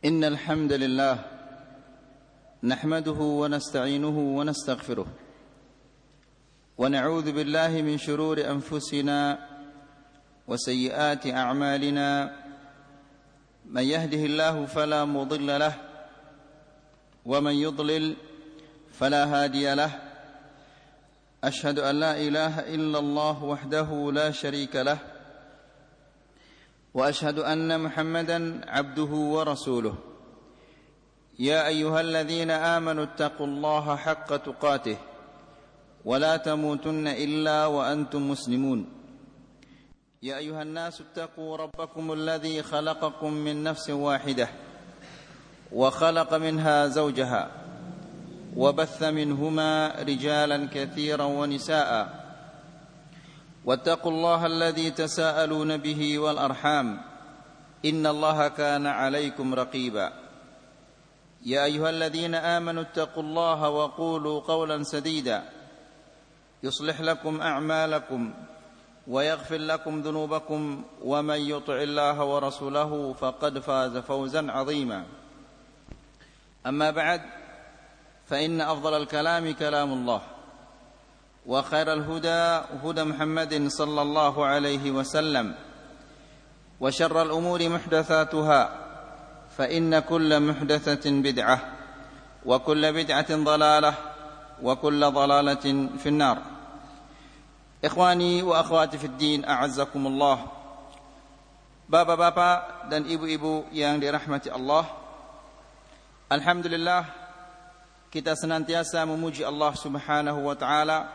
إن الحمد لله نحمده ونستعينه ونستغفره ونعوذ بالله من شرور أنفسنا وسيئات أعمالنا من يهده الله فلا مضل له ومن يضلل فلا هادي له أشهد أن لا إله إلا الله وحده لا شريك له وأشهد أن محمدا عبده ورسوله يا أيها الذين آمنوا اتقوا الله حق تقاته ولا تموتن إلا وأنتم مسلمون يا أيها الناس اتقوا ربكم الذي خلقكم من نفس واحدة وخلق منها زوجها وبث منهما رجالا كثيرا ونساء واتقوا الله الذي تساءلون به والأرحام إن الله كان عليكم رقيبا يا أيها الذين آمنوا اتقوا الله وقولوا قولا سديدا يصلح لكم أعمالكم ويغفر لكم ذنوبكم ومن يطع الله ورسوله فقد فاز فوزا عظيما أما بعد فإن أفضل الكلام كلام الله وخير الهدى هدى محمد صلى الله عليه وسلم وشر الأمور محدثاتها فإن كل محدثة بدعة وكل بدعة ضلالة وكل ضلالة في النار. Ikhwani wa akhwati fid din, a'azzakumullah. Bapak-bapak dan ibu-ibu yang dirahmati Allah, alhamdulillah kita senantiasa memuji Allah Subhanahu wa taala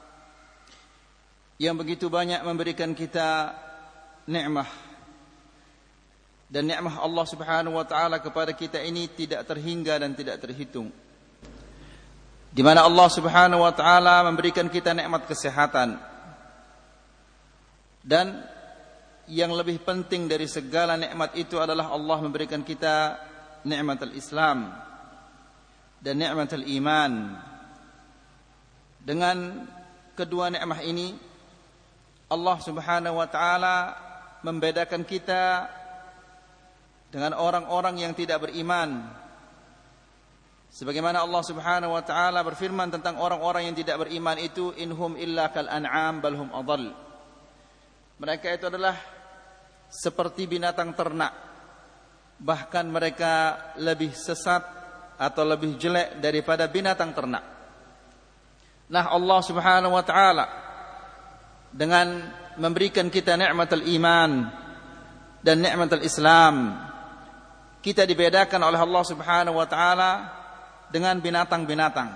yang begitu banyak memberikan kita nikmat. Dan nikmat Allah Subhanahu wa taala kepada kita ini tidak terhingga dan tidak terhitung. Di mana Allah Subhanahu wa taala memberikan kita nikmat kesehatan. Dan yang lebih penting dari segala nikmat itu adalah Allah memberikan kita nikmat al-Islam dan nikmat al-iman. Dengan kedua nikmat ini Allah Subhanahu wa taala membedakan kita dengan orang-orang yang tidak beriman. Sebagaimana Allah Subhanahu wa taala berfirman tentang orang-orang yang tidak beriman itu, inhum illa kal an'am bal hum adall. Mereka itu adalah seperti binatang ternak, bahkan mereka lebih sesat atau lebih jelek daripada binatang ternak. Nah, Allah Subhanahu wa taala dengan memberikan kita nikmat al-iman dan nikmat al-Islam, kita dibedakan oleh Allah Subhanahu wa taala dengan binatang-binatang.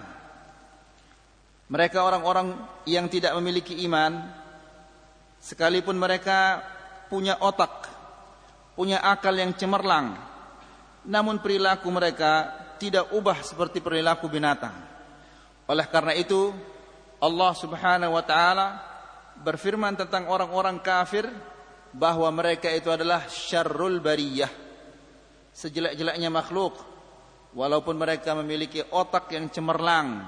Mereka orang-orang yang tidak memiliki iman, sekalipun mereka punya otak, punya akal yang cemerlang, namun perilaku mereka tidak ubah seperti perilaku binatang. Oleh karena itu Allah Subhanahu wa taala berfirman tentang orang-orang kafir bahwa mereka itu adalah syarrul bariyah, sejelek-jeleknya makhluk, walaupun mereka memiliki otak yang cemerlang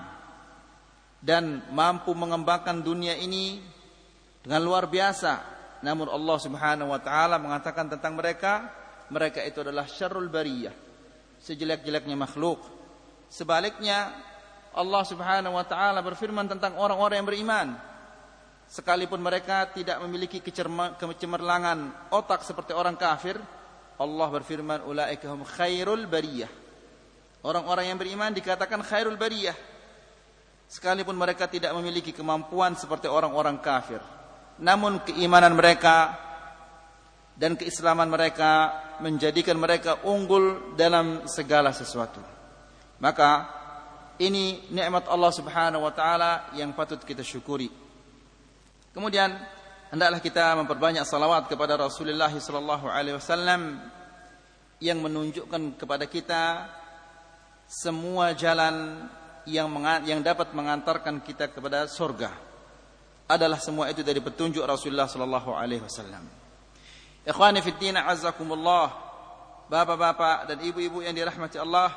dan mampu mengembangkan dunia ini dengan luar biasa, namun Allah Subhanahu wa taala mengatakan tentang mereka itu adalah syarrul bariyah, sejelek-jeleknya makhluk. Sebaliknya Allah Subhanahu wa taala berfirman tentang orang-orang yang beriman, sekalipun mereka tidak memiliki kecemerlangan otak seperti orang kafir, Allah berfirman ulaika hum khairul bariyah. Orang-orang yang beriman dikatakan khairul bariyah, sekalipun mereka tidak memiliki kemampuan seperti orang-orang kafir, namun keimanan mereka dan keislaman mereka menjadikan mereka unggul dalam segala sesuatu. Maka ini nikmat Allah Subhanahu wa taala yang patut kita syukuri. Kemudian hendaklah kita memperbanyak salawat kepada Rasulullah sallallahu alaihi wasallam yang menunjukkan kepada kita semua jalan yang dapat mengantarkan kita kepada surga. Adalah semua itu dari petunjuk Rasulullah sallallahu alaihi wasallam. Ikhwani fid din, a'azzakumullah. Bapak-bapak dan ibu-ibu yang dirahmati Allah,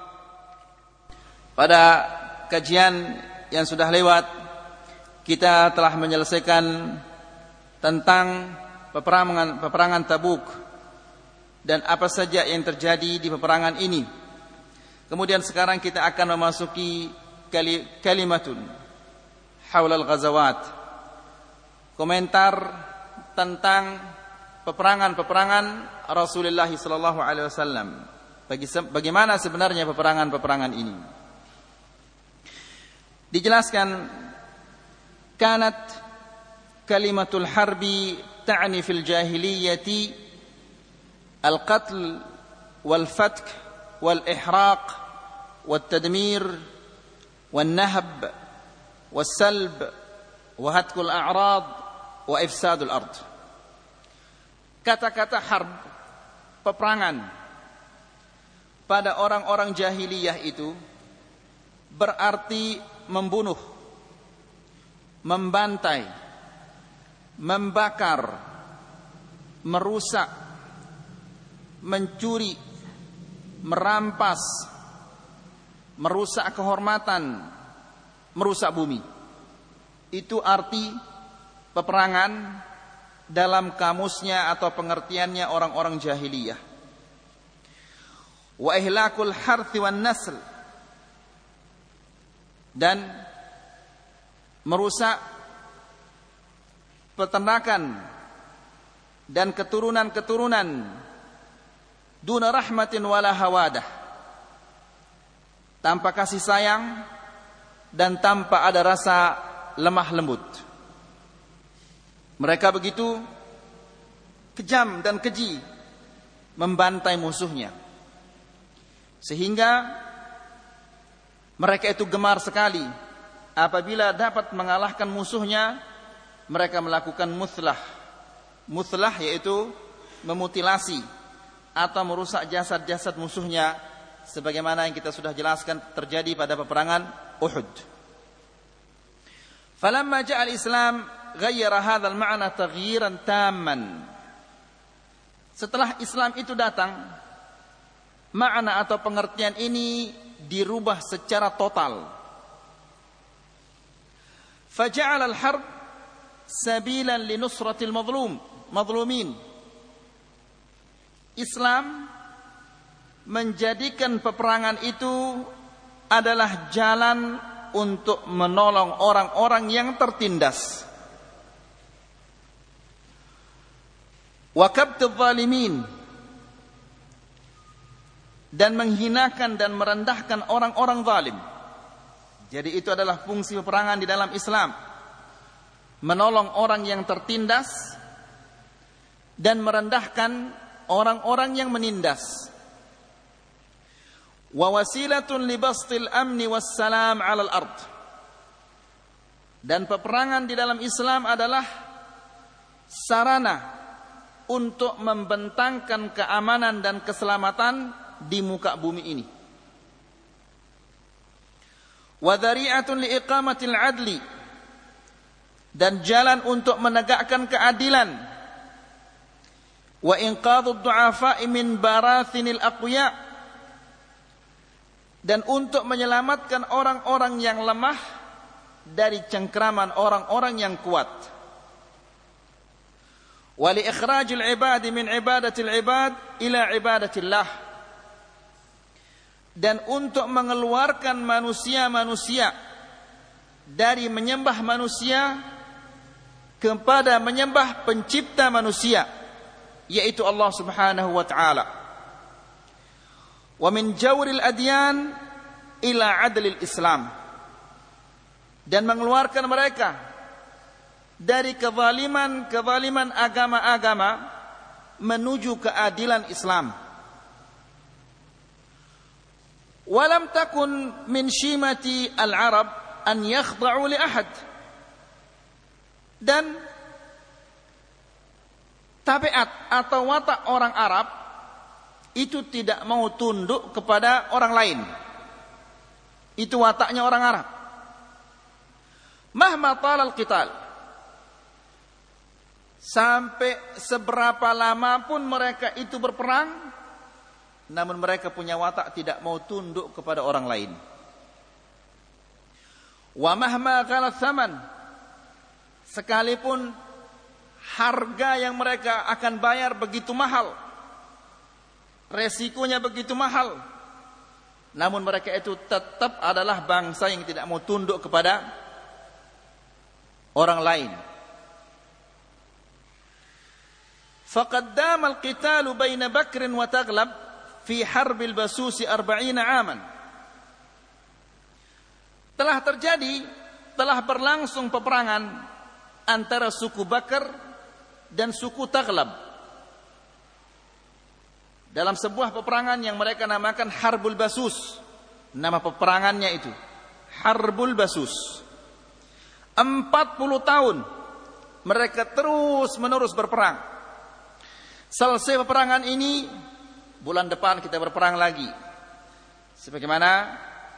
pada kajian yang sudah lewat kita telah menyelesaikan tentang peperangan Tabuk dan apa saja yang terjadi di peperangan ini. Kemudian sekarang kita akan memasuki kalimatun haulal ghazawat, komentar tentang peperangan-peperangan Rasulullah sallallahu alaihi wasallam. Bagaimana sebenarnya peperangan-peperangan ini? Dijelaskan, kanat kalimatul harbi ta'ni fil jahiliyati al-qatl wal-fatk wal-ihraq wal-tadmir wal-nahb wal-salb wa-hatkul a'rad wa-ifsadul ard. Kata-kata harb, peperangan, pada orang-orang jahiliyah itu berarti membunuh, membantai, membakar, merusak, mencuri, merampas, merusak kehormatan, merusak bumi. Itu arti peperangan dalam kamusnya atau pengertiannya orang-orang jahiliyah. Wa ihlakul harthi wan nasl, dan merusak peternakan dan keturunan-keturunan, duna rahmatin wala hawadah, tanpa kasih sayang dan tanpa ada rasa lemah lembut. Mereka begitu kejam dan keji membantai musuhnya, sehingga mereka itu gemar sekali apabila dapat mengalahkan musuhnya. Mereka melakukan muthlah yaitu memutilasi atau merusak jasad-jasad musuhnya, sebagaimana yang kita sudah jelaskan terjadi pada peperangan Uhud. Falamma ja'a al-Islam ghayyara hadzal ma'na taghyiran tamman. Setelah Islam itu datang, makna atau pengertian ini dirubah secara total. Faja'ala al-harb sabilan li nusratil madlumin. Islam menjadikan peperangan itu adalah jalan untuk menolong orang-orang yang tertindas. Wa kabtadh zalimin, dan menghinakan dan merendahkan orang-orang zalim. Jadi itu adalah fungsi peperangan di dalam Islam, menolong orang yang tertindas dan merendahkan orang-orang yang menindas. Wa wasilatun li bastil amni wassalam 'alal ard. Dan peperangan di dalam Islam adalah sarana untuk membentangkan keamanan dan keselamatan di muka bumi ini. Wa dhari'atun li iqamatil 'adli, dan jalan untuk menegakkan keadilan. Wa inqadhud du'afa'i min barathinil aqwiya, dan untuk menyelamatkan orang-orang yang lemah dari cengkraman orang-orang yang kuat. Wa li ikhrajil ibadi min ibadatil ibad ila ibadatillah, dan untuk mengeluarkan manusia-manusia dari menyembah manusia kepada menyembah pencipta manusia, yaitu Allah Subhanahu wa ta'ala. Wa min jawril adyan ila adlil Islam, dan mengeluarkan mereka dari kezaliman agama-agama menuju keadilan Islam. Walam takun min shimati al-Arab an yakhda'u li ahad, dan tabiat atau watak orang Arab itu tidak mau tunduk kepada orang lain. Itu wataknya orang Arab. Mahma talal qital, sampai seberapa lama pun mereka itu berperang, namun mereka punya watak tidak mau tunduk kepada orang lain. Wa mahma ghalat thaman, sekalipun harga yang mereka akan bayar begitu mahal, resikonya begitu mahal. Namun mereka itu tetap adalah bangsa yang tidak mau tunduk kepada orang lain. Faqad dama al-qitalu baina Bakr wa Taghlab fi harb al-Basus 40 aman. Telah berlangsung peperangan antara suku Bakr dan suku Taghlab dalam sebuah peperangan yang mereka namakan Harbul Basus. Nama peperangannya itu Harbul Basus. 40 tahun mereka terus menerus berperang. Selesai peperangan ini, bulan depan kita berperang lagi. Sebagaimana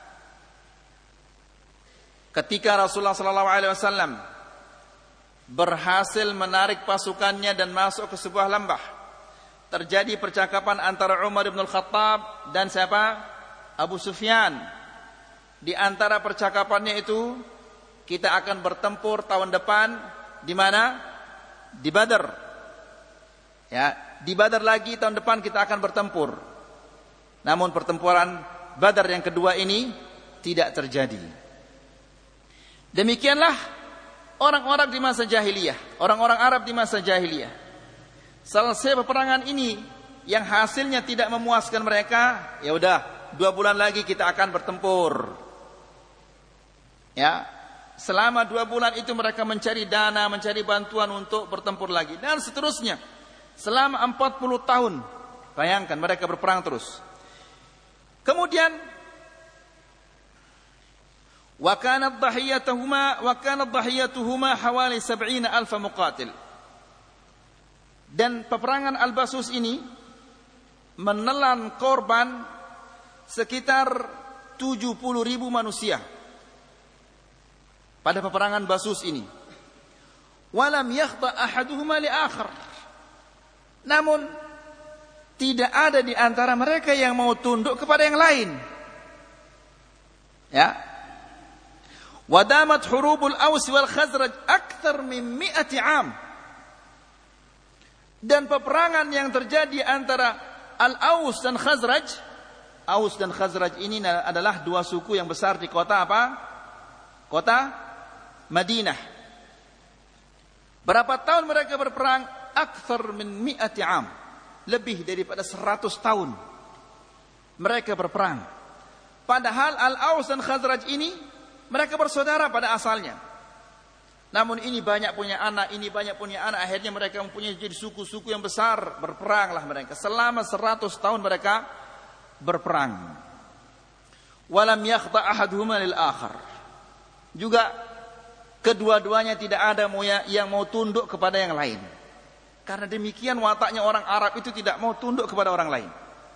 ketika Rasulullah SAW berhasil menarik pasukannya dan masuk ke sebuah lembah, terjadi percakapan antara Umar bin Al-Khattab dan siapa? Abu Sufyan. Di antara percakapannya itu, kita akan bertempur tahun depan di mana? Di Badar. Ya, di Badar lagi tahun depan kita akan bertempur. Namun pertempuran Badar yang kedua ini tidak terjadi. Demikianlah orang-orang di masa jahiliyah, orang-orang Arab di masa jahiliyah. Selesai peperangan ini yang hasilnya tidak memuaskan mereka, ya udah 2 bulan lagi kita akan bertempur. Ya, selama 2 bulan itu mereka mencari dana, mencari bantuan untuk bertempur lagi dan seterusnya. Selama 40 tahun, bayangkan mereka berperang terus. Kemudian wa kanat dhahiyatuhuma hawali 70,000 muqatil. Dan peperangan Al-Basus ini menelan korban sekitar 70.000 manusia pada peperangan Basus ini. Walam yakhta ahaduhuma li akhar. Namun tidak ada di antara mereka yang mau tunduk kepada yang lain. Ya. Wadamat hurubul Aus wal Khazraj akthar min 100 am. Dan peperangan yang terjadi antara Al-Aus dan Khazraj, Aus dan Khazraj ini adalah 2 suku yang besar di kota apa? Kota Madinah. Berapa tahun mereka berperang? Akthar min 100 am. Lebih daripada 100 tahun mereka berperang. Padahal Al-Aus dan Khazraj ini mereka bersaudara pada asalnya. Namun ini banyak punya anak, ini banyak punya anak. Akhirnya mereka mempunyai jadi suku-suku yang besar. Berperanglah mereka. Selama 100 tahun mereka berperang. Walam yakhta ahaduhuma lil akhar. Juga kedua-duanya tidak ada yang mau tunduk kepada yang lain. Karena demikian wataknya orang Arab itu tidak mau tunduk kepada orang lain.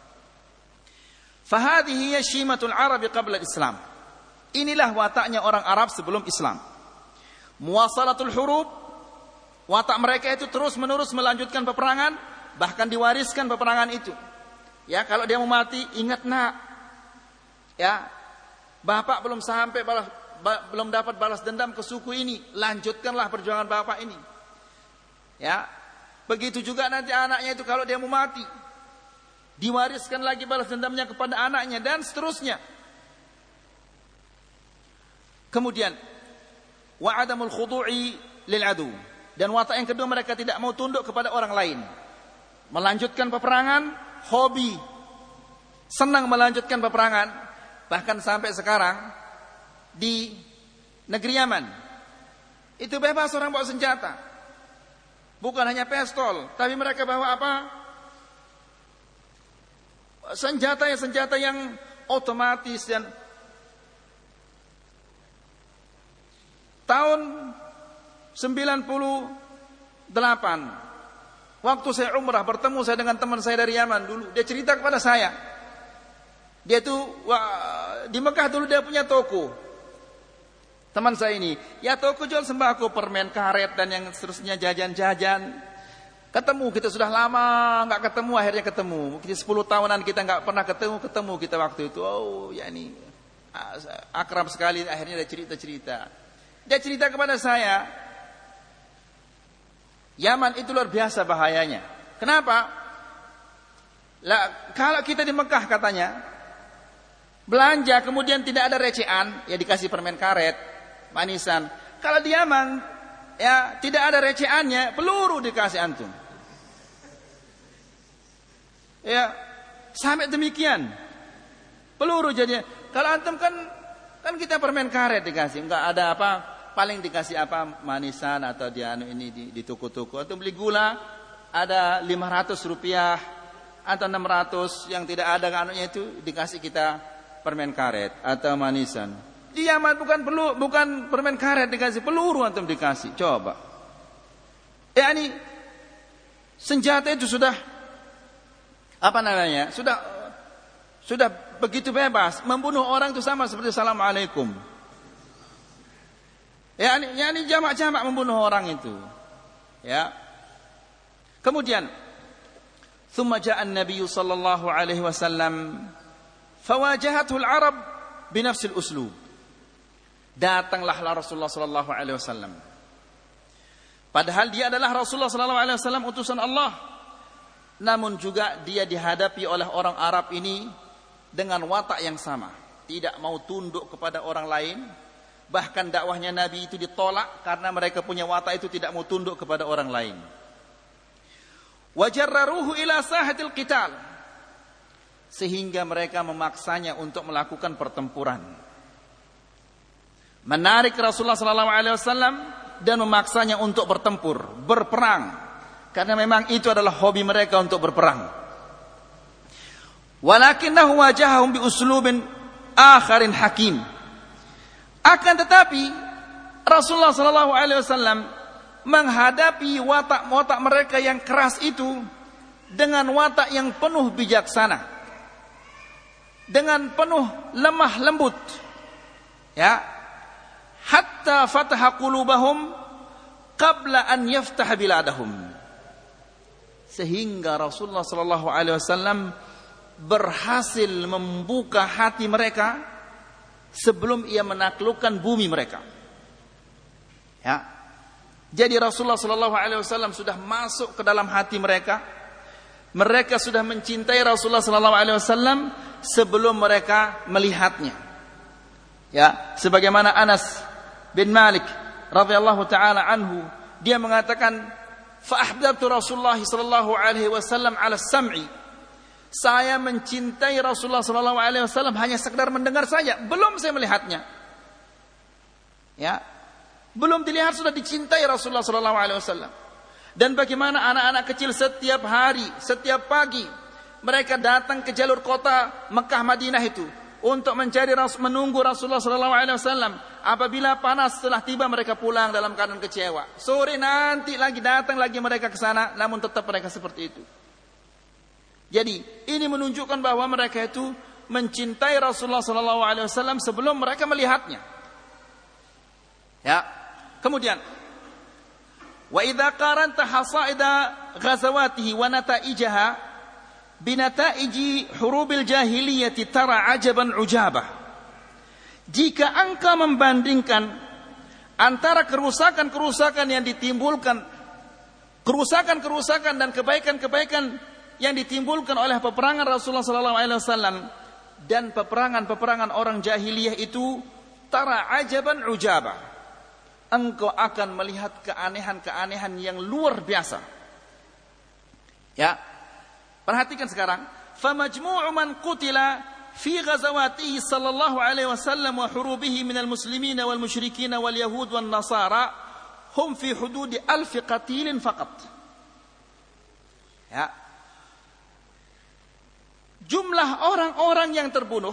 Fahadhihi hiya syimatul Arabi qabla al-Islam. Inilah wataknya orang Arab sebelum Islam. Muwasalatul hurub, watak mereka itu terus-menerus melanjutkan peperangan, bahkan diwariskan peperangan itu. Ya, kalau dia mau mati, ingat nak. Ya, bapak belum sampai belum dapat balas dendam ke suku ini, lanjutkanlah perjuangan bapak ini. Ya, begitu juga nanti anaknya itu kalau dia mau mati, diwariskan lagi balas dendamnya kepada anaknya dan seterusnya. Kemudian wa adamul khudu'i lil adu. Dan watak yang kedua, mereka tidak mau tunduk kepada orang lain. Melanjutkan peperangan, hobi, senang melanjutkan peperangan. Bahkan sampai sekarang di negeri Yaman itu bebas orang bawa senjata. Bukan hanya pistol, tapi mereka bawa apa? Senjata yang otomatis. Dan tahun 98, waktu saya umrah, bertemu saya dengan teman saya dari Yaman dulu. Dia cerita kepada saya, dia tuh di Mekah dulu dia punya toko. Teman saya ini, ya toko jual sembako, permen karet dan yang seterusnya, jajan-jajan. Ketemu kita sudah lama nggak ketemu, akhirnya ketemu. Kita 10 tahunan kita nggak pernah ketemu kita waktu itu. Oh, ya ini akrab sekali. Akhirnya dia cerita. Dia cerita kepada saya, Yaman itu luar biasa bahayanya. Kenapa? Lah, kalau kita di Mekah katanya belanja kemudian tidak ada recehan, ya dikasih permen karet, manisan. Kalau di Yaman ya tidak ada recehannya, peluru dikasih antum. Ya, sampai demikian. Peluru jadinya. Kalau antum kan kita permen karet dikasih, enggak ada apa, paling dikasih apa, manisan atau ini di toko-toko. Antum beli gula ada 500 rupiah atau 600, yang tidak ada anunya itu dikasih kita permen karet atau manisan. Di Yaman bukan permen karet dikasih, peluru antum dikasih. Coba. Ya ini senjata itu sudah apa namanya? Sudah begitu bebas, membunuh orang itu sama seperti assalamualaikum. Ya ini jamak-jamak membunuh orang itu. Ya. Kemudian ثم جاء النبي صلى الله عليه وسلم فواجهته العرب بنفس الأسلوب. Datanglah Rasulullah sallallahu alaihi wasallam. Padahal dia adalah Rasulullah sallallahu alaihi wasallam utusan Allah. Namun juga dia dihadapi oleh orang Arab ini dengan watak yang sama, tidak mau tunduk kepada orang lain. Bahkan dakwahnya Nabi itu ditolak karena mereka punya watak itu tidak mau tunduk kepada orang lain. Wajarraruhu ila sahatil qital, sehingga mereka memaksanya untuk melakukan pertempuran, menarik Rasulullah sallallahu alaihi wasallam dan memaksanya untuk berperang, karena memang itu adalah hobi mereka untuk berperang. Walakinnahu wajahahum bi uslubin akharin hakim. Akan tetapi Rasulullah sallallahu alaihi wasallam menghadapi watak-watak mereka yang keras itu dengan watak yang penuh bijaksana, dengan penuh lemah lembut. Ya, hatta fataha qulubahum qabla an yaftah biladahum. Sehingga Rasulullah sallallahu alaihi wasallam berhasil membuka hati mereka sebelum ia menaklukkan bumi mereka. Ya. Jadi Rasulullah sallallahu alaihi wasallam sudah masuk ke dalam hati mereka. Mereka sudah mencintai Rasulullah sallallahu alaihi wasallam sebelum mereka melihatnya. Ya, sebagaimana Anas bin Malik radhiyallahu taala anhu, dia mengatakan, "Fa ahbabtu Rasulullah sallallahu alaihi wasallam 'ala as-sam'i." Saya mencintai Rasulullah sallallahu alaihi wasallam hanya sekedar mendengar saja, belum saya melihatnya. Ya. Belum dilihat sudah dicintai Rasulullah sallallahu alaihi wasallam. Dan bagaimana anak-anak kecil setiap hari, setiap pagi mereka datang ke jalur kota Mekah Madinah itu untuk mencari menunggu Rasulullah sallallahu alaihi wasallam. Apabila panas setelah tiba mereka pulang dalam keadaan kecewa. Sore nanti lagi datang lagi mereka ke sana, namun tetap mereka seperti itu. Jadi ini menunjukkan bahwa mereka itu mencintai Rasulullah sallallahu alaihi wasallam sebelum mereka melihatnya. Ya. Kemudian wa idza qaranta hasaida ghazawatihi wa nataijaha binataiji hurubil jahiliyati tara ajaban ujabah. Jika engkau membandingkan antara kerusakan-kerusakan yang ditimbulkan, kerusakan-kerusakan dan kebaikan-kebaikan yang ditimbulkan oleh peperangan Rasulullah sallallahu alaihi wasallam dan peperangan-peperangan orang jahiliyah itu, tara ajaban ujabah, engkau akan melihat keanehan-keanehan yang luar biasa. Ya. Perhatikan sekarang, fa majmu'u man qutila fi ghazawatihi sallallahu alaihi wasallam wa hurubihi minal muslimin wal musyrikin wal yahud wan nasara hum fi hudud 1000 qatilin faqat. Ya. Jumlah orang-orang yang terbunuh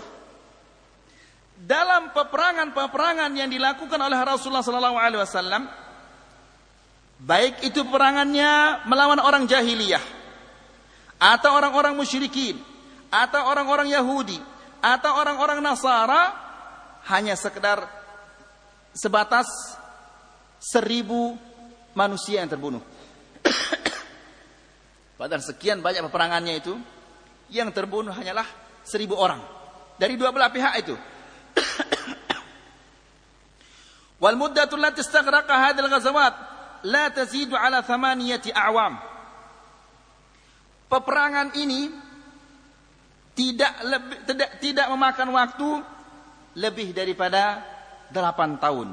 dalam peperangan-peperangan yang dilakukan oleh Rasulullah sallallahu alaihi wasallam, baik itu peperangannya melawan orang jahiliyah atau orang-orang musyrikin atau orang-orang Yahudi atau orang-orang Nasara, hanya sekedar sebatas 1000 manusia yang terbunuh. Padahal sekian banyak peperangannya itu, yang terbunuh hanyalah 1000 orang dari dua belah pihak itu. Wal muddatu allati istaghraqa hadhihi al-ghazawat la tazidu ala 8 a'wam. Peperangan ini tidak memakan waktu lebih daripada 8 tahun.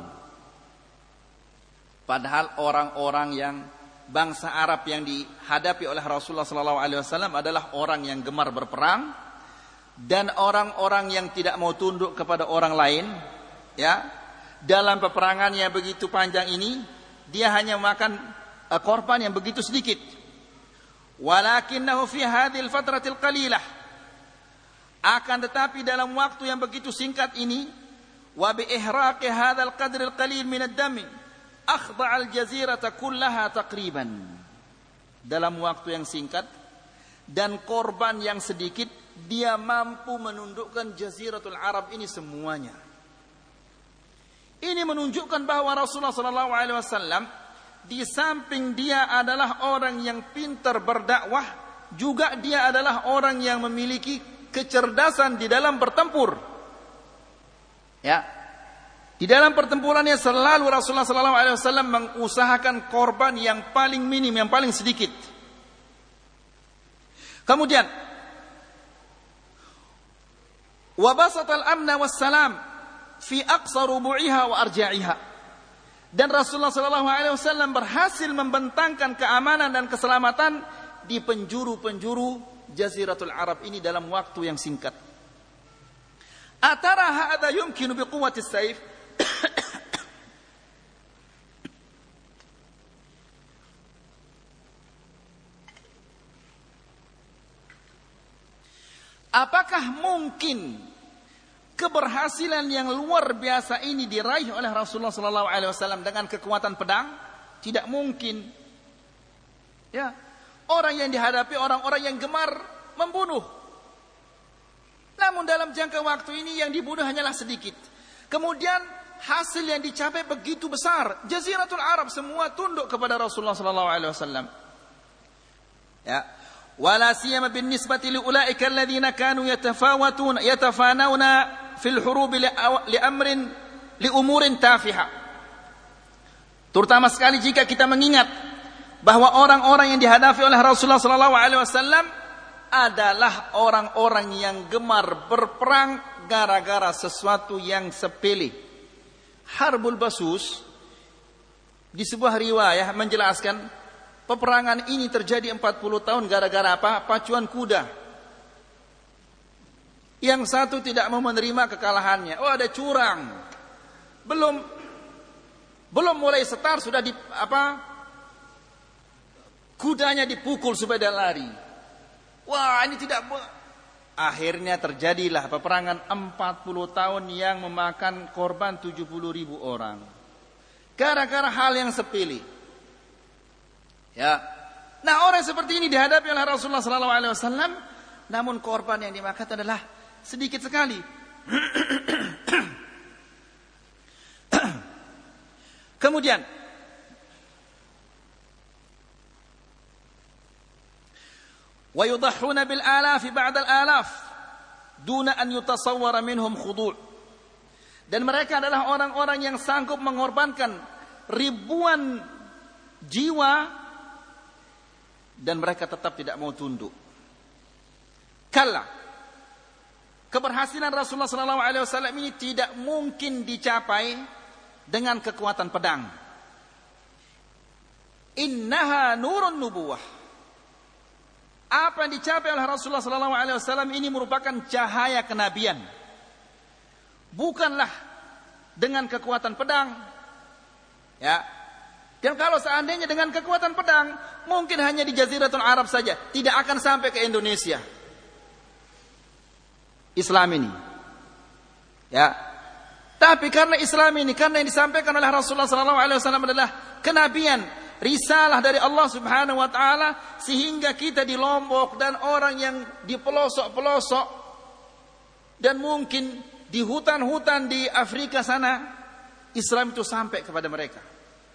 Padahal orang-orang yang bangsa Arab yang dihadapi oleh Rasulullah SAW adalah orang yang gemar berperang dan orang-orang yang tidak mau tunduk kepada orang lain. Ya, dalam peperangan yang begitu panjang ini, dia hanya memakan korban yang begitu sedikit. Walakinnahu fi hadhil fatratil qalilah, akan tetapi dalam waktu yang begitu singkat ini, wa bi ihraqi hadzal qadril qalil min ad-dam akhda' al-jazirata kullaha taqriban. Dalam waktu yang singkat dan korban yang sedikit, dia mampu menundukkan Jaziratul Arab ini semuanya. Ini menunjukkan bahwa Rasulullah SAW di samping dia adalah orang yang pintar berdakwah, juga dia adalah orang yang memiliki kecerdasan di dalam bertempur. Ya, di dalam pertempurannya selalu Rasulullah SAW mengusahakan korban yang paling minim, yang paling sedikit. Kemudian, wabasatal amna wassalam fi aqsa rubu'iha wa arja'iha. Dan Rasulullah SAW berhasil membentangkan keamanan dan keselamatan di penjuru-penjuru Jaziratul Arab ini dalam waktu yang singkat. Atara hadza yumkinu biquwwati as-sayf. Apakah mungkin keberhasilan yang luar biasa ini diraih oleh Rasulullah SAW dengan kekuatan pedang? Tidak mungkin. Ya, orang yang dihadapi orang-orang yang gemar membunuh. Namun dalam jangka waktu ini yang dibunuh hanyalah sedikit. Kemudian hasil yang dicapai begitu besar. Jaziratul Arab semua tunduk kepada Rasulullah SAW. Ya. ولا سيما بالنسبة لأولئك الذين كانوا يتفانون في الحروب لأمور تافهة. Terutama sekali jika kita mengingat bahwa orang-orang yang dihadapi oleh Rasulullah SAW adalah orang-orang yang gemar berperang gara-gara sesuatu yang sepele. Harbul Basus di sebuah riwayah menjelaskan peperangan ini terjadi 40 tahun gara-gara apa? Pacuan kuda. Yang satu tidak mau menerima kekalahannya. Oh, ada curang. Belum mulai setar sudah kudanya dipukul supaya dia lari. Wah, ini tidak akhirnya terjadilah peperangan 40 tahun yang memakan korban 70.000 orang. Gara-gara hal yang sepele. Ya, nah orang seperti ini dihadapi oleh Rasulullah SAW, namun korban yang dimakan adalah sedikit sekali. Kemudian, wa yudahhuna bil alafi ba'da al alaf, duna an yutasawwara minhum khudu'. Dan mereka adalah orang-orang yang sanggup mengorbankan ribuan jiwa dan mereka tetap tidak mau tunduk. Kalla, keberhasilan Rasulullah SAW ini tidak mungkin dicapai dengan kekuatan pedang. Innaha nurun nubuwah. Apa yang dicapai oleh Rasulullah SAW ini merupakan cahaya kenabian. Bukanlah dengan kekuatan pedang. Ya. Dan kalau seandainya dengan kekuatan pedang, mungkin hanya di Jaziratul Arab saja, tidak akan sampai ke Indonesia. Islam ini. Ya. Tapi karena Islam ini, karena yang disampaikan oleh Rasulullah SAW adalah kenabian, risalah dari Allah Subhanahu wa taala, sehingga kita di Lombok dan orang yang di pelosok-pelosok dan mungkin di hutan-hutan di Afrika sana, Islam itu sampai kepada mereka.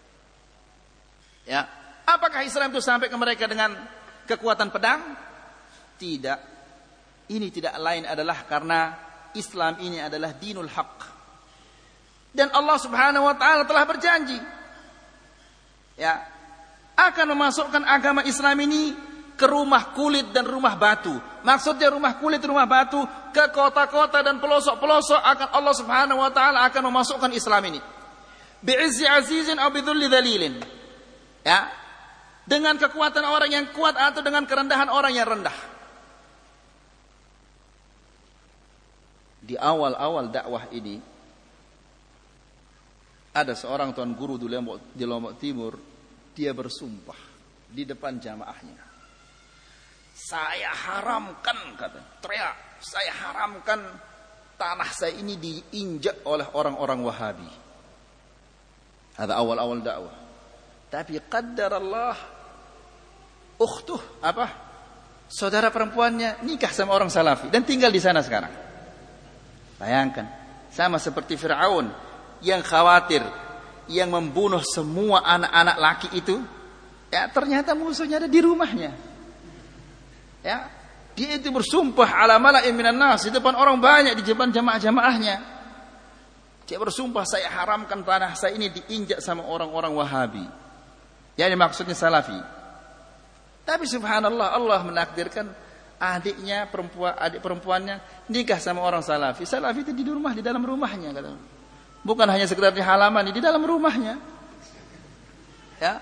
Ya, apakah Islam itu sampai ke mereka dengan kekuatan pedang? Tidak. Ini tidak lain adalah karena Islam ini adalah dinul haq. Dan Allah Subhanahu wa taala telah berjanji, ya, akan memasukkan agama Islam ini ke rumah kulit dan rumah batu. Maksudnya rumah kulit, rumah batu, ke kota-kota dan pelosok-pelosok akan Allah Subhanahu wa taala akan memasukkan Islam ini. Bi'izzi azizin aw bidzulli dzalilin. Ya. Dengan kekuatan orang yang kuat atau dengan kerendahan orang yang rendah. Di awal-awal dakwah ini ada seorang tuan guru di Lombok Timur, dia bersumpah di depan jamaahnya. Saya haramkan, kata, teriak, saya haramkan tanah saya ini diinjak oleh orang-orang Wahabi. Ada awal-awal dakwah. Tapi qaddarallah, ukhtuh, saudara perempuannya nikah sama orang Salafi dan tinggal di sana sekarang. Bayangkan, sama seperti Fir'aun yang khawatir, yang membunuh semua anak-anak laki itu, ya ternyata musuhnya ada di rumahnya. Ya, dia itu bersumpah ala mala'in minan nas di depan orang banyak, di depan jamaah-jamaahnya. Dia bersumpah, saya haramkan tanah saya ini diinjak sama orang-orang Wahabi. Yang maksudnya Salafi. Tapi subhanallah, Allah menakdirkan adik perempuannya nikah sama orang Salafi. Salafi itu di rumah, di dalam rumahnya, kata. Bukan hanya sekedar di halaman, di dalam rumahnya. Ya.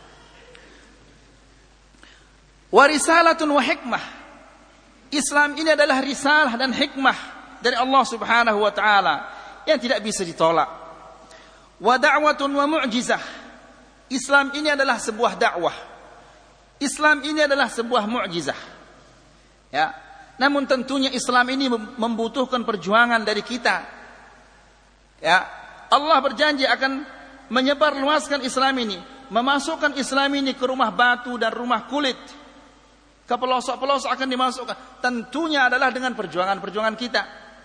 Warisalatun wa hikmah. Islam ini adalah risalah dan hikmah dari Allah Subhanahu wa taala yang tidak bisa ditolak. Wa da'watun wa mu'jizah. Islam ini adalah sebuah dakwah. Islam ini adalah sebuah mu'jizah. Ya. Namun tentunya Islam ini membutuhkan perjuangan dari kita. Ya. Allah berjanji akan menyebarluaskan Islam ini, memasukkan Islam ini ke rumah batu dan rumah kulit. Ke pelosok-pelosok akan dimasukkan. Tentunya adalah dengan perjuangan-perjuangan kita.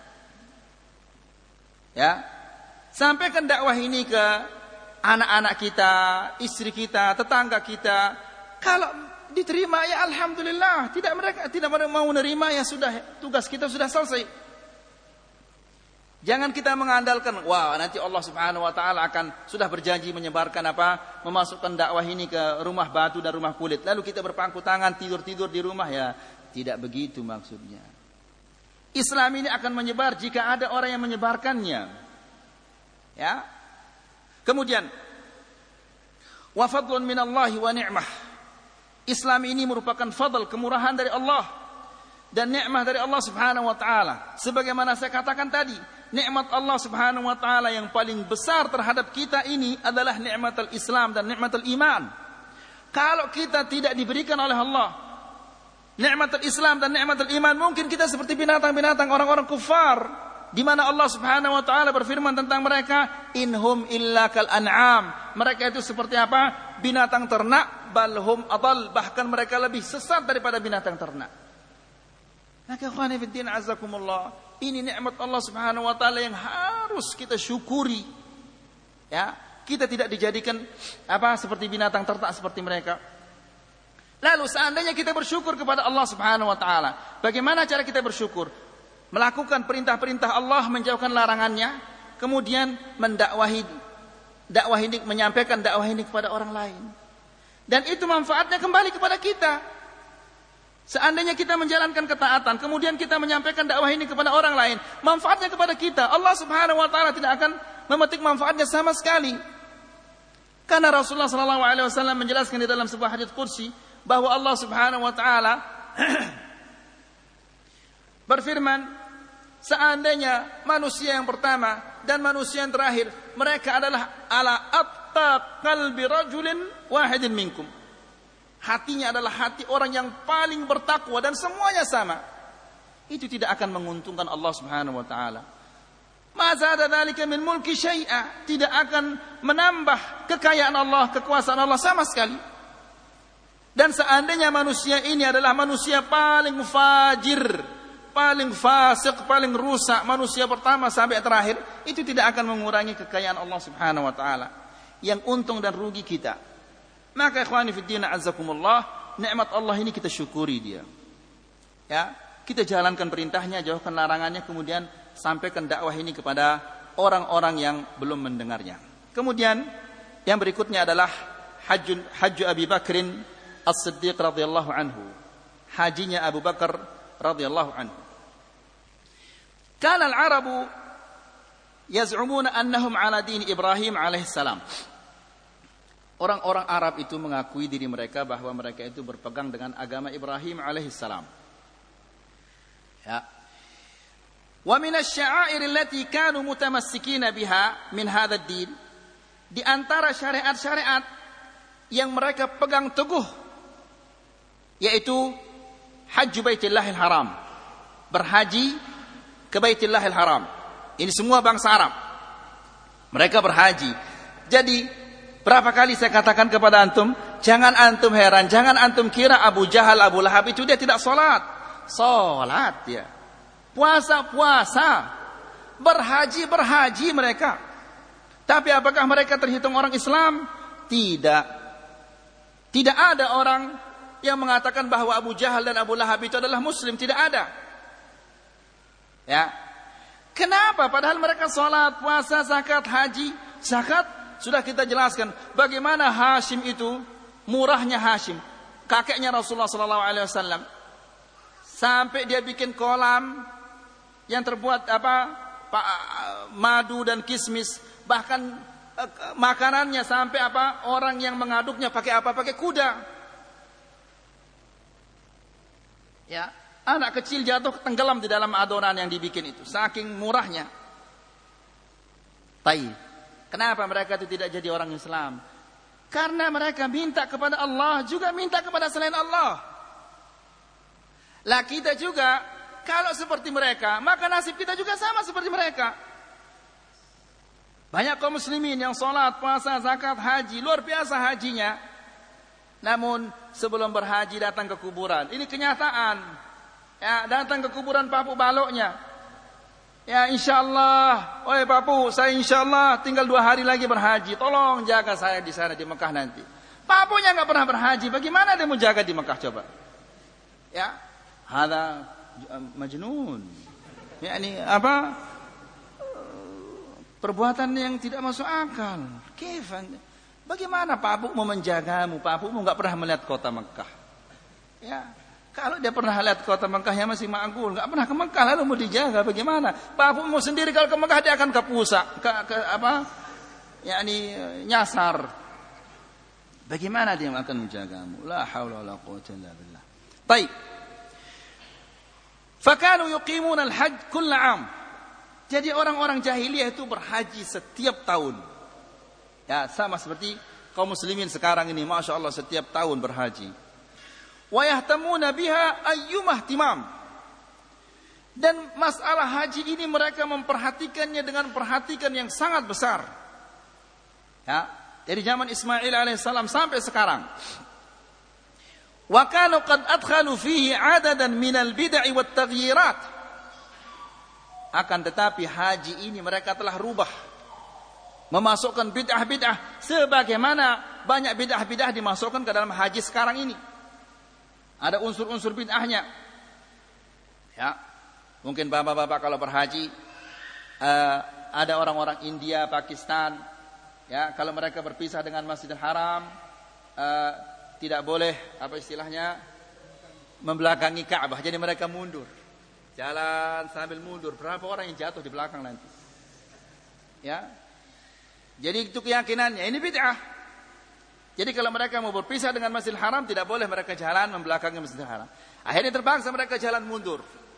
Ya, sampaikan dakwah ini ke anak-anak kita, istri kita, tetangga kita. Kalau diterima ya alhamdulillah, tidak mau menerima ya sudah, tugas kita sudah selesai. Jangan kita mengandalkan, wah nanti Allah Subhanahu wa taala akan sudah berjanji menyebarkan memasukkan dakwah ini ke rumah batu dan rumah kulit. Lalu kita berpangku tangan tidur-tidur di rumah, ya tidak begitu maksudnya. Islam ini akan menyebar jika ada orang yang menyebarkannya. Ya. Kemudian wa fadlun minallahi wa ni'mah. Islam ini merupakan fadl, kemurahan dari Allah dan nikmat dari Allah Subhanahu wa taala. Sebagaimana saya katakan tadi, nikmat Allah Subhanahu wa taala yang paling besar terhadap kita ini adalah nikmatul Islam dan nikmatul iman. Kalau kita tidak diberikan oleh Allah nikmatul Islam dan nikmatul iman, mungkin kita seperti binatang-binatang orang-orang kufar, di mana Allah Subhanahu wa taala berfirman tentang mereka, inhum illa kal an'am. Mereka itu seperti apa? Binatang ternak, balhum adall, bahkan mereka lebih sesat daripada binatang ternak. Maka ikhwani fid din azakumullah, ini nikmat Allah Subhanahu wa taala yang harus kita syukuri. Ya, kita tidak dijadikan seperti binatang ternak seperti mereka. Lalu seandainya kita bersyukur kepada Allah Subhanahu wa taala, bagaimana cara kita bersyukur? Melakukan perintah-perintah Allah, menjauhkan larangannya, kemudian menyampaikan dakwah ini kepada orang lain. Dan itu manfaatnya kembali kepada kita. Seandainya kita menjalankan ketaatan, kemudian kita menyampaikan dakwah ini kepada orang lain, manfaatnya kepada kita. Allah Subhanahu wa taala tidak akan memetik manfaatnya sama sekali. Karena Rasulullah sallallahu alaihi wasallam menjelaskan di dalam sebuah hadits qudsi bahwa Allah Subhanahu wa taala berfirman, seandainya manusia yang pertama dan manusia yang terakhir mereka adalah ala atta qalbi rajulin wahidin minkum. Hatinya adalah hati orang yang paling bertakwa dan semuanya sama. Itu tidak akan menguntungkan Allah Subhanahu wa taala. Ma zada dzalika min mulki syai'a, tidak akan menambah kekayaan Allah, kekuasaan Allah sama sekali. Dan seandainya manusia ini adalah manusia paling fajir, paling fasik, paling rusak, manusia pertama sampai terakhir, itu tidak akan mengurangi kekayaan Allah Subhanahu wa taala. Yang untung dan rugi kita. Maka ikhwani fid din azzakumullah, nikmat Allah ini kita syukuri dia. Ya, kita jalankan perintahnya, jauhkan larangannya, kemudian sampaikan dakwah ini kepada orang-orang yang belum mendengarnya. Kemudian yang berikutnya adalah Hajju Abi Bakrin As-Siddiq radhiyallahu anhu, hajinya Abu Bakar radhiyallahu anhu. Kana al-Arabu yaz'umuna annahum ala din Ibrahim alaihi salam. Orang-orang Arab itu mengakui diri mereka bahwa mereka itu berpegang dengan agama Ibrahim alaihi salam. Ya. Wa min asy-sya'air allati kanu mutamassikina biha min hadzal din, di antara syariat-syariat yang mereka pegang teguh yaitu Hajj Baitillahil Haram, berhaji ke Baitillahil Haram. Ini semua bangsa Arab, mereka berhaji. Jadi berapa kali saya katakan kepada antum, jangan antum heran, jangan antum kira Abu Jahal, Abu Lahab itu dia tidak salat. Salat dia, puasa, berhaji mereka. Tapi apakah mereka terhitung orang Islam? Tidak. Tidak ada orang yang mengatakan bahwa Abu Jahal dan Abu Lahab itu adalah Muslim. Tidak ada. Ya. Kenapa? Padahal mereka salat, puasa, zakat, haji. Zakat sudah kita jelaskan. Bagaimana Hashim itu, murahnya Hashim, kakeknya Rasulullah SAW, sampai dia bikin kolam yang terbuat madu dan kismis. Bahkan makanannya sampai orang yang mengaduknya pakai apa? Pakai kuda. Ya, anak kecil jatuh tenggelam di dalam adonan yang dibikin itu, saking murahnya. Kenapa mereka itu tidak jadi orang Islam? Karena mereka minta kepada Allah, juga minta kepada selain Allah. Lah kita juga kalau seperti mereka, maka nasib kita juga sama seperti mereka. Banyak kaum muslimin yang salat, puasa, zakat, haji, luar biasa hajinya. Namun sebelum berhaji datang ke kuburan. Ini kenyataan. Ya, datang ke kuburan papu baloknya. Ya, insyaallah, oi papu, saya insyaallah tinggal 2 hari lagi berhaji. Tolong jaga saya di sana di Mekah nanti. Papunya enggak pernah berhaji, bagaimana dia mau jaga di Mekah coba? Ya, hada majnun. Yani perbuatan yang tidak masuk akal. Bagaimana papu mau menjagamu? Papumu enggak pernah melihat kota Mekah. Ya, kalau dia pernah lihat kota Mekah yang masih ma'gul, enggak pernah ke Mekah, lalu mau dijaga bagaimana? Papumu sendiri kalau ke Mekah dia akan ke pusat, nyasar. Bagaimana dia akan menjagamu? La haula wala quwwata illa billah. Baik. Fakanu yuqimuna al-hajj kull 'am. Jadi orang-orang jahiliyah itu berhaji setiap tahun. Ya, sama seperti kaum muslimin sekarang ini, Masya Allah setiap tahun berhaji. Wa yahtamuna biha ayyumah timam. Dan masalah haji ini mereka memperhatikannya dengan perhatikan yang sangat besar. Ya, dari zaman Ismail alaihissalam sampai sekarang. Wa kanu qad adkhalu fihi 'adadan minal bid'i wat taghyirat. Akan tetapi haji ini mereka telah rubah, memasukkan bid'ah-bid'ah sebagaimana banyak bid'ah-bid'ah dimasukkan ke dalam haji sekarang ini. Ada unsur-unsur bid'ahnya. Ya, mungkin bapak-bapak kalau berhaji ada orang-orang India, Pakistan, ya, kalau mereka berpisah dengan Masjidil Haram tidak boleh membelakangi Ka'bah. Jadi mereka mundur. Jalan sambil mundur. Berapa orang yang jatuh di belakang nanti? Ya. Jadi itu keyakinannya. Ini bid'ah. Jadi kalau mereka mau berpisah dengan Masjidil Haram, tidak boleh mereka jalan membelakangi Masjidil Haram. Akhirnya terpaksa mereka jalan mundur.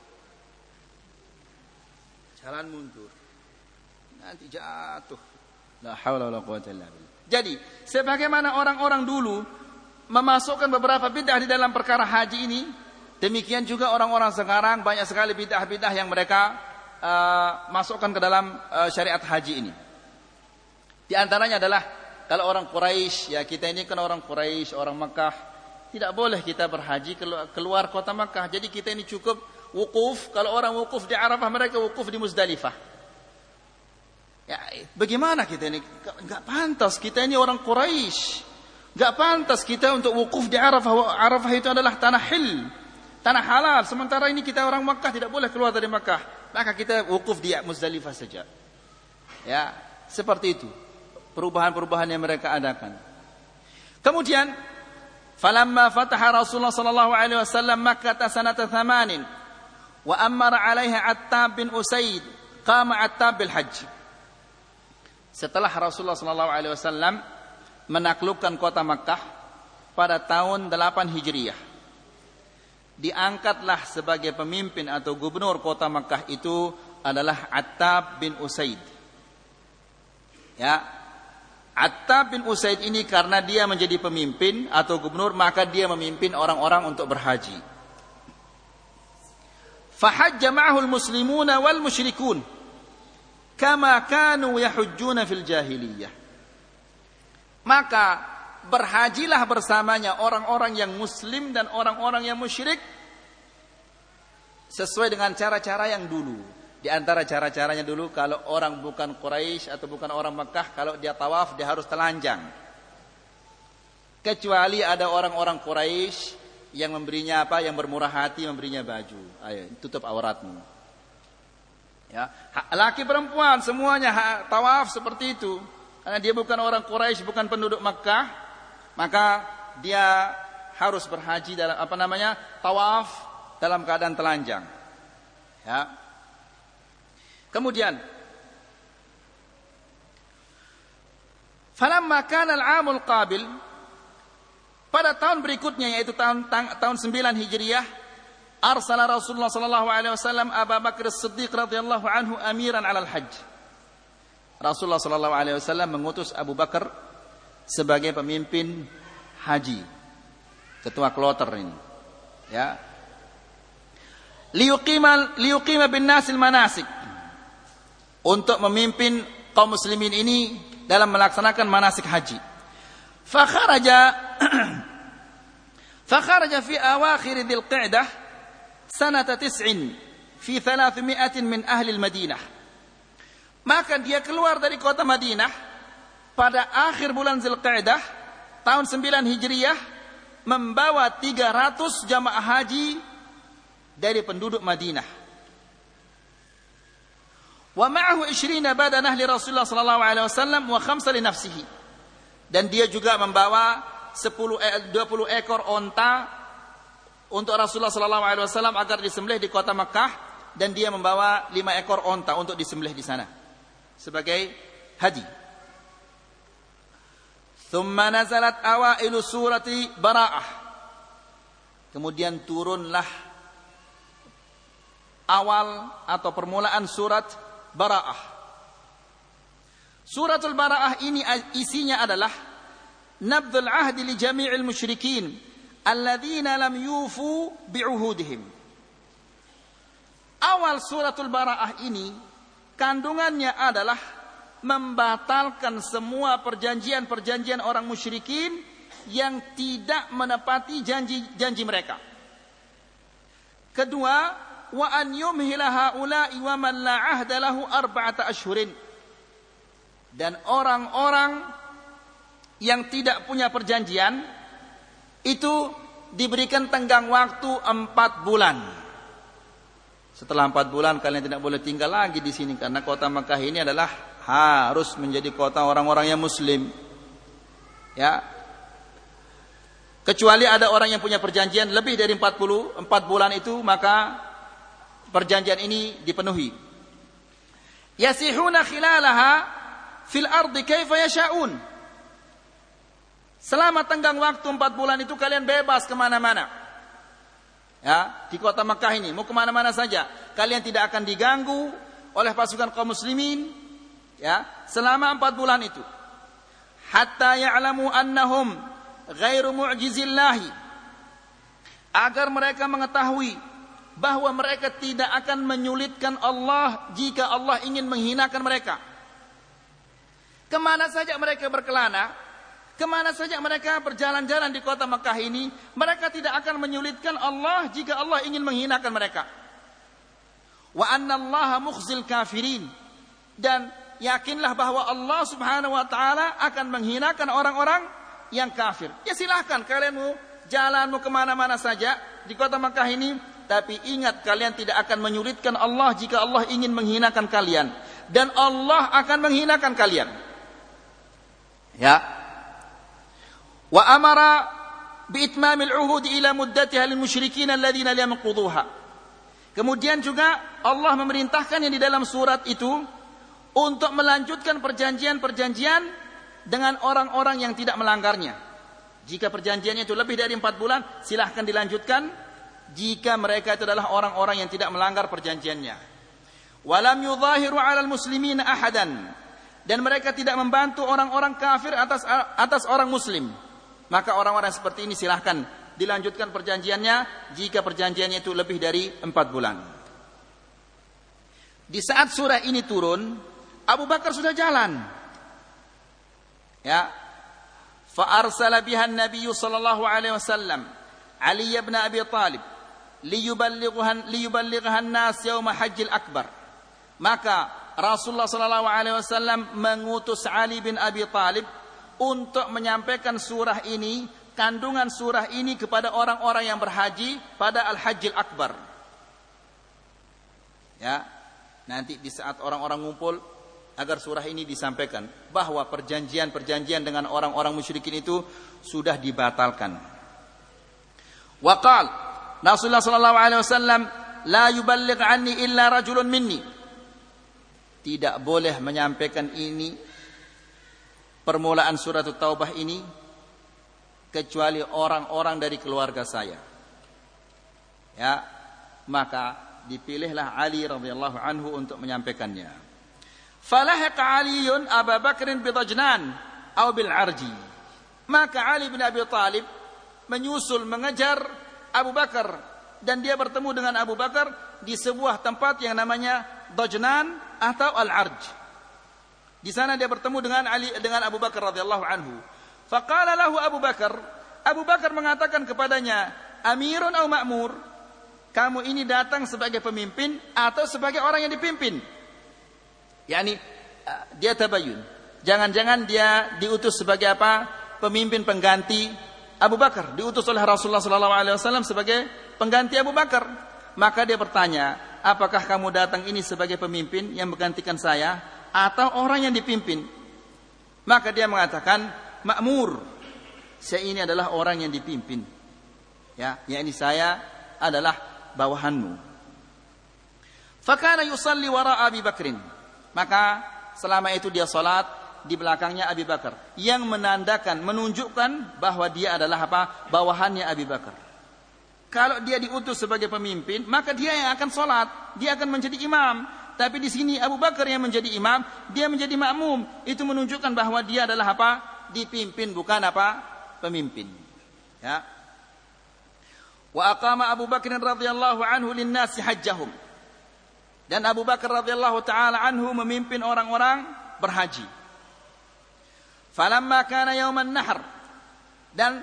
Jalan mundur. Nanti jatuh. La haula wala quwwata illa billah. Jadi, sebagaimana orang-orang dulu memasukkan beberapa bid'ah di dalam perkara haji ini, demikian juga orang-orang sekarang banyak sekali bid'ah-bid'ah yang mereka masukkan ke dalam syariat haji ini. Di antaranya adalah kalau orang Quraisy, ya kita ini kan orang Quraisy, orang Mekah, tidak boleh kita berhaji keluar kota Mekah. Jadi kita ini cukup wukuf. Kalau orang wukuf di Arafah, mereka wukuf di Muzdalifah. Ya, bagaimana kita ini? Enggak pantas, kita ini orang Quraisy. Enggak pantas kita untuk wukuf di Arafah. Arafah itu adalah tanah hil, tanah halal. Sementara ini kita orang Makkah tidak boleh keluar dari Makkah. Maka kita wukuf di Muzdalifah saja. Ya, seperti itu perubahan-perubahan yang mereka adakan. Kemudian Falamma fataha Rasulullah sallallahu alaihi wasallam Makkah sanata 8 wa amara 'alaiha Attab bin Usaid qama Attab bil hajj. Setelah Rasulullah sallallahu alaihi wasallam menaklukkan kota Makkah pada tahun 8 Hijriah, diangkatlah sebagai pemimpin atau gubernur kota Makkah itu adalah Attab bin Usaid. Ya, Attab bin Usaid ini karena dia menjadi pemimpin atau gubernur, maka dia memimpin orang-orang untuk berhaji. Fahajja ma'ahu al-muslimuna wal musyrikun kama kanu yahujjuna fil jahiliyah. Maka berhajilah bersamanya orang-orang yang muslim dan orang-orang yang musyrik sesuai dengan cara-cara yang dulu. Di antara cara-caranya dulu, kalau orang bukan Quraisy atau bukan orang Makkah, kalau dia tawaf dia harus telanjang. Kecuali ada orang-orang Quraisy yang memberinya apa? Yang bermurah hati, memberinya baju. Ayo, tutup auratmu. Ya, laki perempuan semuanya tawaf seperti itu. Karena dia bukan orang Quraisy, bukan penduduk Makkah, maka dia harus berhaji dalam tawaf dalam keadaan telanjang. Ya. Kemudian falamma kana al-'amul qabil, pada tahun berikutnya yaitu tahun 9 Hijriah, arsala Rasulullah sallallahu alaihi wasallam Abu Bakar As-Siddiq radhiyallahu anhu amiran 'alal hajj. Rasulullah sallallahu alaihi wasallam mengutus Abu Bakar sebagai pemimpin haji, ketua kloter ini. Ya. Liyuqima bin nasil manasik, untuk memimpin kaum muslimin ini dalam melaksanakan manasik haji. Fakharaja fi awakhir Dzul Qa'dah sanata 9 fi 300 min ahli al-Madinah. Maka dia keluar dari kota Madinah pada akhir bulan Dzul Qa'dah tahun 9 Hijriah membawa 300 jamaah haji dari penduduk Madinah. Wa ma'ahu 20 badanah li Rasulullah sallallahu alaihi wasallam wa 5 li nafsihi. Dan dia juga membawa 20 ekor onta untuk Rasulullah sallallahu alaihi wasallam agar disembelih di kota Makkah, dan dia membawa 5 ekor onta untuk disembelih di sana sebagai haji. Thumma nazalat awailu surati Bara'ah. Kemudian turunlah awal atau permulaan surat Bara'ah. Suratul Bara'ah ini isinya adalah nabdhul ahdi li jami'il musyrikin alladzina lam yufu bi'uhudihim. Awal suratul Bara'ah ini kandungannya adalah membatalkan semua perjanjian-perjanjian orang musyrikin yang tidak menepati janji-janji mereka. Kedua, wa an yumhila haula'i wa man la 'ahda lahu 4 ashhurin. Dan orang-orang yang tidak punya perjanjian itu diberikan tenggang waktu 4 bulan. Setelah 4 bulan kalian tidak boleh tinggal lagi di sini, karena kota Makkah ini adalah harus menjadi kota orang-orang yang muslim. Ya. Kecuali ada orang yang punya perjanjian lebih dari 4 bulan itu, maka perjanjian ini dipenuhi. Yasihuna khilalaha fil ardi kaifa yasha'un. Selama tenggang waktu 4 bulan itu kalian bebas kemana-mana. Ya, di kota Makkah ini mau kemana-mana saja. Kalian tidak akan diganggu oleh pasukan kaum muslimin. Ya, selama 4 bulan itu. Hatta ya'lamu annahum ghairu mu'jizillahi. Agar mereka mengetahui bahwa mereka tidak akan menyulitkan Allah jika Allah ingin menghinakan mereka. Kemana saja mereka berkelana, kemana saja mereka berjalan-jalan di kota Makkah ini, mereka tidak akan menyulitkan Allah jika Allah ingin menghinakan mereka. Wa anna Allaha mukhzil kafirin. Dan yakinlah bahwa Allah subhanahu wa ta'ala akan menghinakan orang-orang yang kafir. Ya silahkan kalian mau jalan mau kemana-mana saja di kota Makkah ini, tapi ingat kalian tidak akan menyulitkan Allah jika Allah ingin menghinakan kalian, dan Allah akan menghinakan kalian. Ya. Wa amara biitmamil uhud ila muddatiha lil musyrikin alladziina lam yaqudhuha. Kemudian juga Allah memerintahkan yang di dalam surat itu untuk melanjutkan perjanjian-perjanjian dengan orang-orang yang tidak melanggarnya. Jika perjanjiannya itu lebih dari 4 bulan, silahkan dilanjutkan jika mereka itu adalah orang-orang yang tidak melanggar perjanjiannya. Walam yudhahiru 'alal muslimina ahadan, dan mereka tidak membantu orang-orang kafir atas orang muslim. Maka orang-orang seperti ini silahkan dilanjutkan perjanjiannya jika perjanjiannya itu lebih dari 4 bulan. Di saat surah ini turun, Abu Bakar sudah jalan. Ya. Fa arsala biha an-nabiy sallallahu alaihi wasallam Ali bin Abi Thalib liyuballighaha an-nas yaum hajjil akbar. Maka Rasulullah sallallahu alaihi wasallam mengutus Ali bin Abi Thalib untuk menyampaikan surah ini, kandungan surah ini kepada orang-orang yang berhaji pada Al-Hajjil Akbar. Ya, nanti di saat orang-orang ngumpul agar surah ini disampaikan bahwa perjanjian-perjanjian dengan orang-orang musyrikin itu sudah dibatalkan. Wa qala Rasulullah sallallahu alaihi wasallam la yuballigh anni illa rajulun minni. Tidak boleh menyampaikan ini, permulaan surat Taubah ini, kecuali orang-orang dari keluarga saya. Ya, maka dipilihlah Ali radhiyallahu anhu untuk menyampaikannya. Falahiqa Aliun Abu Bakr bi Dajnan atau bil Arji. Maka Ali bin Abi Thalib menyusul mengejar Abu Bakar, dan dia bertemu dengan Abu Bakar di sebuah tempat yang namanya Dajnan atau Al-Arj. Di sana dia bertemu dengan Abu Bakar radhiyallahu anhu. Faqala lahu Abu Bakar mengatakan kepadanya, Amirun atau Ma'mur? Kamu ini datang sebagai pemimpin atau sebagai orang yang dipimpin? Yani dia tabayun. Jangan-jangan dia diutus sebagai apa? Pemimpin pengganti Abu Bakar, diutus oleh Rasulullah sallallahu alaihi wasallam sebagai pengganti Abu Bakar. Maka dia bertanya, apakah kamu datang ini sebagai pemimpin yang menggantikan saya atau orang yang dipimpin? Maka dia mengatakan, Ma'mur. Saya ini adalah orang yang dipimpin. Ya, yakni saya adalah bawahanmu. Fakana yusalli wara Abi Bakrin. Maka selama itu dia salat di belakangnya Abi Bakar, yang menunjukkan bahwa dia adalah apa? Bawahannya Abi Bakar. Kalau dia diutus sebagai pemimpin, maka dia yang akan salat, dia akan menjadi imam. Tapi di sini Abu Bakar yang menjadi imam, dia menjadi makmum. Itu menunjukkan bahwa dia adalah apa? Dipimpin, bukan apa? Pemimpin. Ya. Wa aqama Abu Bakr radhiyallahu anhu lin-nasi hajjahum. Dan Abu Bakar radhiyallahu taala anhu memimpin orang-orang berhaji. Falamma kana yauman nahr, dan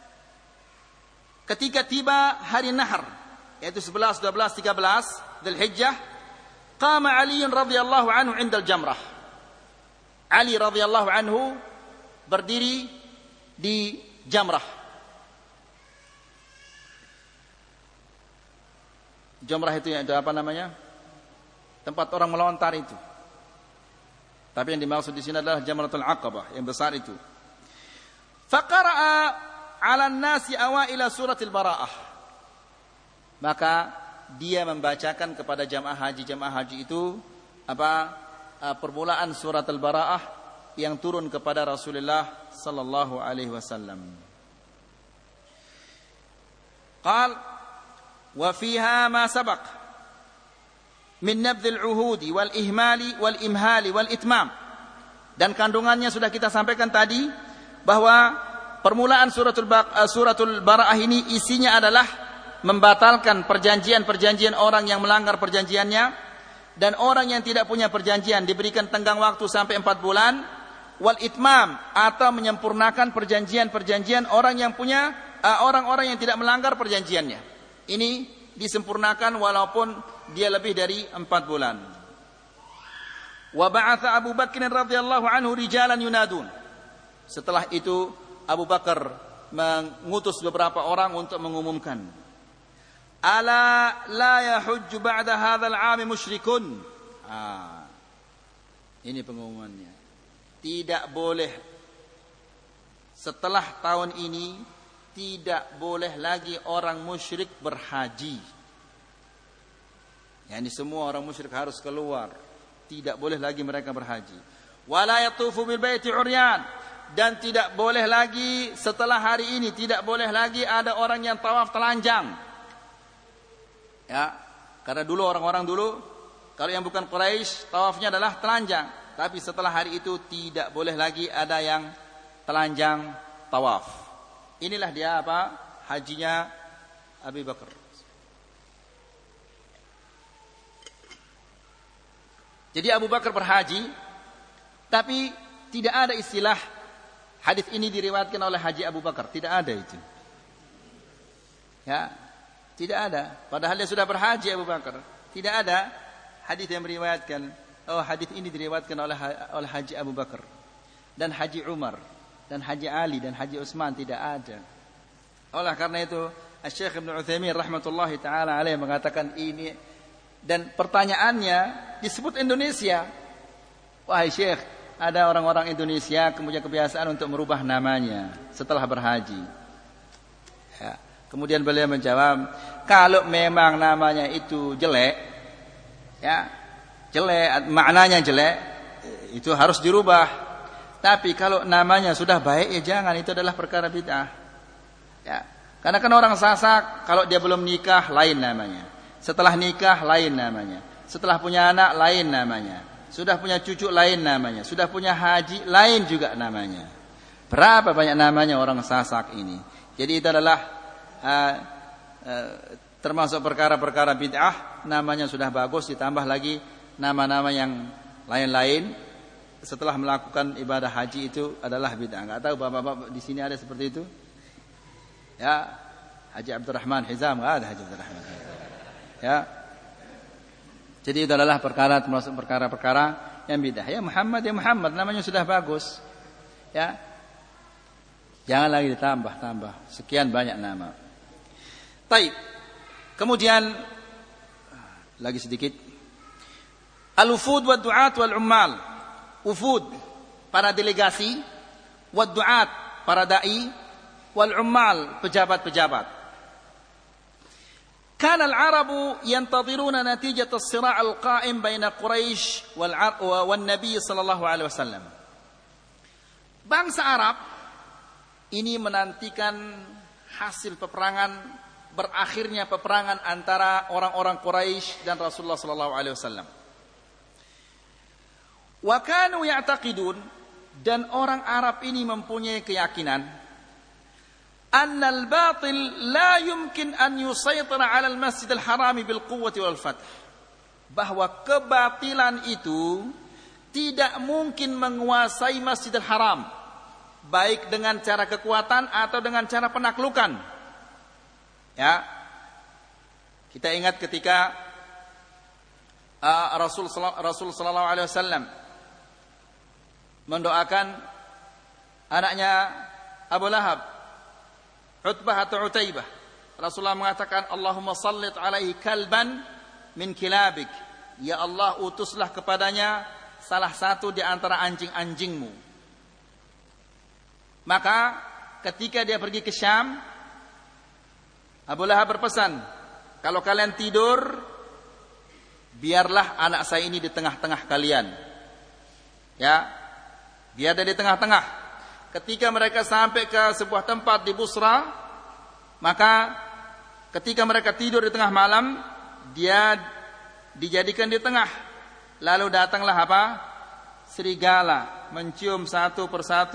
ketika tiba hari Nahr, yaitu 11, 12, 13 Dzulhijjah, qama Ali radhiyallahu anhu 'inda al-jamrah. Ali radhiyallahu anhu berdiri di jamrah. Jamrah itu yang apa namanya? Tempat orang melontar itu. Tapi yang dimaksud di sini adalah Jamratul Aqabah yang besar itu. Faqara'a 'ala an-nasi awaila suratil Bara'ah. Maka dia membacakan kepada jamaah haji itu apa? Permulaan surat Al-Bara'ah yang turun kepada Rasulullah sallallahu alaihi wasallam. Qal wa fiha ma sabaq min nabdhil uhudi wal ihmali wal imhali wal itmam. Dan kandungannya sudah kita sampaikan tadi, bahwa permulaan suratul Bara'ah ini isinya adalah membatalkan perjanjian-perjanjian orang yang melanggar perjanjiannya, dan orang yang tidak punya perjanjian diberikan tenggang waktu sampai 4 bulan, wal itmam atau menyempurnakan perjanjian-perjanjian orang yang punya orang-orang yang tidak melanggar perjanjiannya. Ini disempurnakan walaupun dia lebih dari 4 bulan. Wa ba'atha Abu Bakr radhiyallahu anhu rijalan yunadun. Setelah itu Abu Bakar mengutus beberapa orang untuk mengumumkan, ala la yahujju ba'da hadzal 'am musyrikun. Ini pengumumannya. Tidak boleh setelah tahun ini tidak boleh lagi orang musyrik berhaji. Yani semua orang musyrik harus keluar, tidak boleh lagi mereka berhaji. Wala yatufu bil baiti uryan, dan tidak boleh lagi setelah hari ini tidak boleh lagi ada orang yang tawaf telanjang. Ya, karena dulu orang-orang dulu kalau yang bukan Quraisy tawafnya adalah telanjang, tapi setelah hari itu tidak boleh lagi ada yang telanjang tawaf. Inilah dia apa? Hajinya Abu Bakar. Jadi Abu Bakar berhaji, tapi tidak ada istilah hadis ini diriwayatkan oleh Haji Abu Bakar, tidak ada itu. Ya, tidak ada. Padahal dia sudah berhaji Abu Bakar, tidak ada hadis yang meriwayatkan. Oh, hadis ini diriwayatkan oleh Haji Abu Bakar dan Haji Umar dan Haji Ali dan Haji Utsman, tidak ada. Oleh karena itu, Syekh Ibnu Utsaimin rahmatullahi taala alaihi mengatakan ini. Dan pertanyaannya disebut Indonesia. Wahai Syekh, ada orang-orang Indonesia kemudian kebiasaan untuk merubah namanya setelah berhaji. Ya. Kemudian beliau menjawab, kalau memang namanya itu jelek, ya, jelek, maknanya jelek, itu harus dirubah. Tapi kalau namanya sudah baik, ya jangan, itu adalah perkara bid'ah. Ya. Karena kan orang Sasak, kalau dia belum nikah lain namanya. Setelah nikah lain namanya. Setelah punya anak lain namanya. Sudah punya cucu lain namanya. Sudah punya haji lain juga namanya. Berapa banyak namanya orang Sasak ini. Jadi itu adalah termasuk perkara-perkara bid'ah. Namanya sudah bagus, ditambah lagi nama-nama yang lain-lain. Setelah melakukan ibadah haji itu adalah bid'ah. Enggak tahu bapak-bapak di sini ada seperti itu? Ya, Haji Abdurrahman Hizam, enggak ada Haji Abdurrahman Hizam. Ya. Jadi itu adalah perkara termasuk perkara-perkara yang bidah. Ya Muhammad namanya sudah bagus. Ya. Jangan lagi ditambah-tambah sekian banyak nama. Baik. Kemudian lagi sedikit. Al-wufud wa du'at wal ummal. Wufud para delegasi, wa du'at para dai, wal ummal pejabat-pejabat. كان العرب ينتظرون نتيجة الصراع القائم بين قريش والنبي صلى الله عليه وسلم. Bangsa Arab ini menantikan hasil peperangan, berakhirnya peperangan antara orang-orang Quraisy dan Rasulullah sallallahu alaihi wasallam. Wa kanu ya'taqidun, dan orang Arab ini mempunyai keyakinan أن الباطل لا يمكن أن يسيطر على المسجد الحرام بالقوة والفتح, bahwa kebatilan itu tidak mungkin menguasai Masjidil Haram baik dengan cara kekuatan atau dengan cara penaklukan. Ya, kita ingat ketika Rasul sallallahu alaihi wasallam mendoakan anaknya Abu Lahab, Utbah atau Utaibah. Rasulullah mengatakan, Allahumma sallit alaihi kalban min kilabik. Ya Allah, utuslah kepadanya salah satu di antara anjing-anjingmu. Maka ketika dia pergi ke Syam, Abu Lahab berpesan, kalau kalian tidur, biarlah anak saya ini di tengah-tengah kalian. Ya, biar dia di tengah-tengah. Ketika mereka sampai ke sebuah tempat di Busra, maka ketika mereka tidur di tengah malam, dia dijadikan di tengah. Lalu datanglah apa? Serigala mencium satu persatu.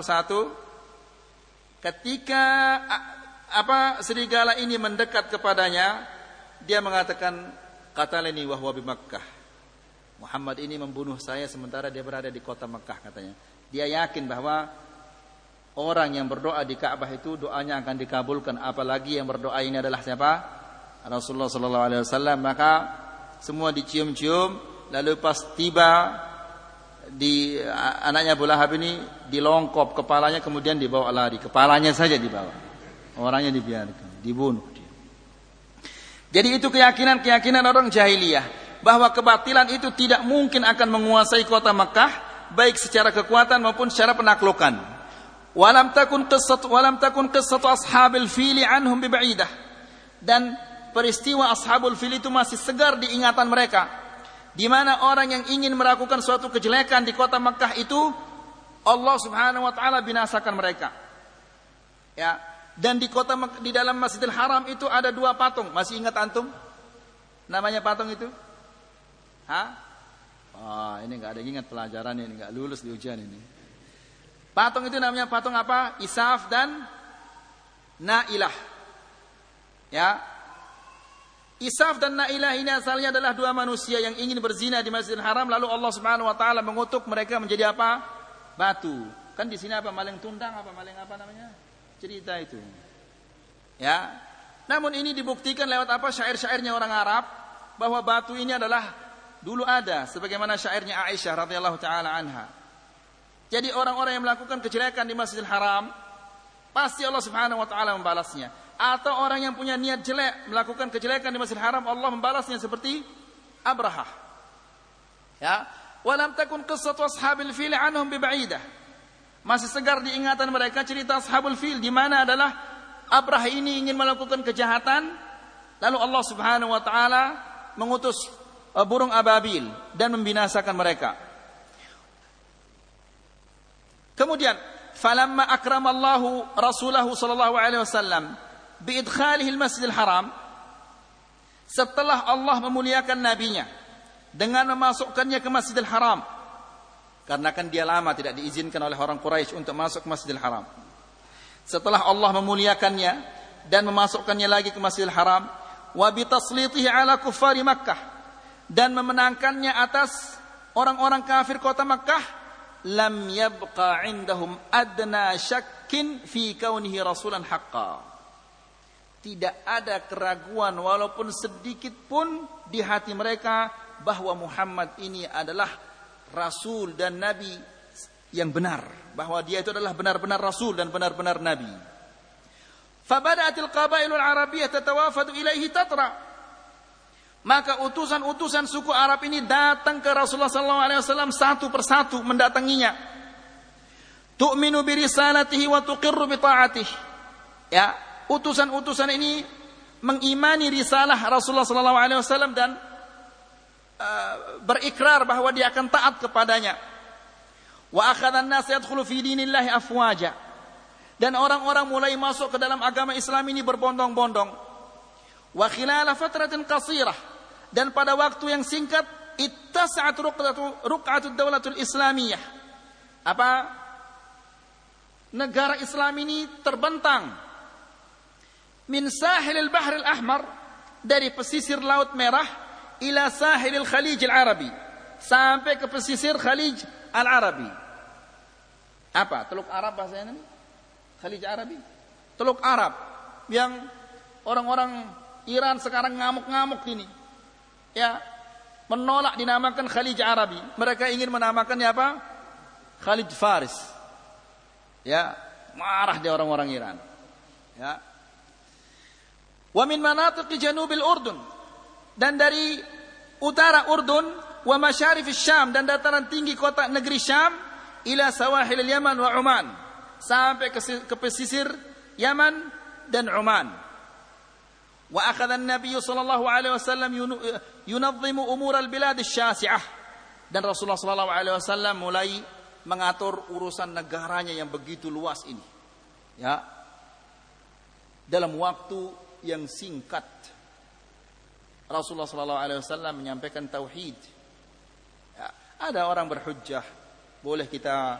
Ketika serigala ini mendekat kepadanya, dia mengatakan, qatalani wa huwa bi Makkah. Muhammad ini membunuh saya sementara dia berada di kota Makkah, katanya. Dia yakin bahwa orang yang berdoa di Ka'bah itu doanya akan dikabulkan, apalagi yang berdoa ini adalah siapa? Rasulullah sallallahu alaihi wasallam. Maka semua dicium-cium, lalu pas tiba di anaknya Abu Lahab ini dilongkop kepalanya, kemudian dibawa lari. Kepalanya saja dibawa. Orangnya dibiarkan, dibunuh dia. Jadi itu keyakinan orang jahiliyah bahwa kebatilan itu tidak mungkin akan menguasai kota Makkah baik secara kekuatan maupun secara penaklukan. Walam takun qissatu ashabil fili anhum biba'idah. Dan peristiwa ashabul fil itu masih segar di ingatan mereka, di mana orang yang ingin melakukan suatu kejelekan di kota Makkah itu Allah Subhanahu wa taala binasakan mereka. Ya, dan di dalam Masjidil Haram itu ada 2 patung. Masih ingat antum? Namanya patung itu? Ini enggak ada yang ingat pelajaran ini, enggak lulus di ujian ini. Patung itu namanya patung apa? Isaf dan Nailah. Ya. Isaf dan Nailah ini asalnya adalah 2 manusia yang ingin berzina di Masjidil Haram, lalu Allah Subhanahu wa taala mengutuk mereka menjadi apa? Batu. Kan di sini apa? Maling tundang apa? Maling apa namanya? Cerita itu. Ya. Namun ini dibuktikan lewat apa? Syair-syairnya orang Arab bahwa batu ini adalah dulu ada, sebagaimana syairnya Aisyah radhiyallahu taala anha. Jadi orang-orang yang melakukan kejelekan di Masjidil Haram pasti Allah Subhanahu wa taala membalasnya. Atau orang yang punya niat jelek melakukan kejelekan di Masjidil Haram, Allah membalasnya seperti Abrahah. Ya, walam takun qissatu ashabil fil anhum biba'idah. Masih segar di ingatan mereka cerita ashabul fil, di mana adalah Abrahah ini ingin melakukan kejahatan, lalu Allah Subhanahu wa taala mengutus burung ababil dan membinasakan mereka. Kemudian, falamma akramallahu rasulahu sallallahu alaihi wasallam biidkhalihi al-Masjidil Haram, setelah Allah memuliakan nabinya dengan memasukkannya ke Masjidil Haram, karena kan dia lama tidak diizinkan oleh orang Quraisy untuk masuk ke Masjidil Haram. Setelah Allah memuliakannya dan memasukkannya lagi ke Masjidil Haram, wa bitaslitihi ala kuffari Makkah, dan memenangkannya atas orang-orang kafir kota Makkah, lam yabqa indahum adna syakkin fi kaunihi rasulan haqqan. Tidak ada keraguan walaupun sedikit pun di hati mereka bahwa Muhammad ini adalah rasul dan nabi yang benar, bahwa dia itu adalah benar-benar rasul dan benar-benar nabi. Fabada'atil qabailul arabiyyah tatawafadu ilaihi tatra. Maka utusan-utusan suku Arab ini datang ke Rasulullah SAW satu persatu mendatanginya. Tu'minu bi risalatihi wa tuqirru bi ta'atihi. Ya, utusan-utusan ini mengimani risalah Rasulullah SAW dan berikrar bahwa dia akan taat kepadanya. Wa akhadha an-nas yadkhulu fi dinillahi afwaja. Dan orang-orang mulai masuk ke dalam agama Islam ini berbondong-bondong. Wa khilala fatratin qasirah, dan pada waktu yang singkat ittasa'at ruq'atud daulatul islamiyah. Negara Islam ini terbentang min sahilil bahril ahmar, dari pesisir Laut Merah, ila sahilil Khalijil Arabi, sampai ke pesisir Khalij Al-Arabi. Teluk Arab bahasanya ini? Khalij Arabi. Teluk Arab yang orang-orang Iran sekarang ngamuk-ngamuk ini. Ya, menolak dinamakan Khalij Arabi. Mereka ingin menamakannya apa? Khalij Faris. Ya, marah dia orang-orang Iran. Ya. Wa min manatiqi janubil Urdun, dan dari utara Urdun, wa masyarifis Syam, dan dataran tinggi kota negeri Syam, ila sawahil Yaman wa Oman, sampai ke pesisir Yaman dan Oman. Wa akhadha an-nabiy sallallahu alaihi wasallam yunazzimu umur al-bilad asy-syasi'ah, dan Rasulullah sallallahu alaihi wasallam mulai mengatur urusan negaranya yang begitu luas ini. Ya. Dalam waktu yang singkat Rasulullah sallallahu alaihi wasallam menyampaikan tauhid. Ya, ada orang berhujjah, boleh kita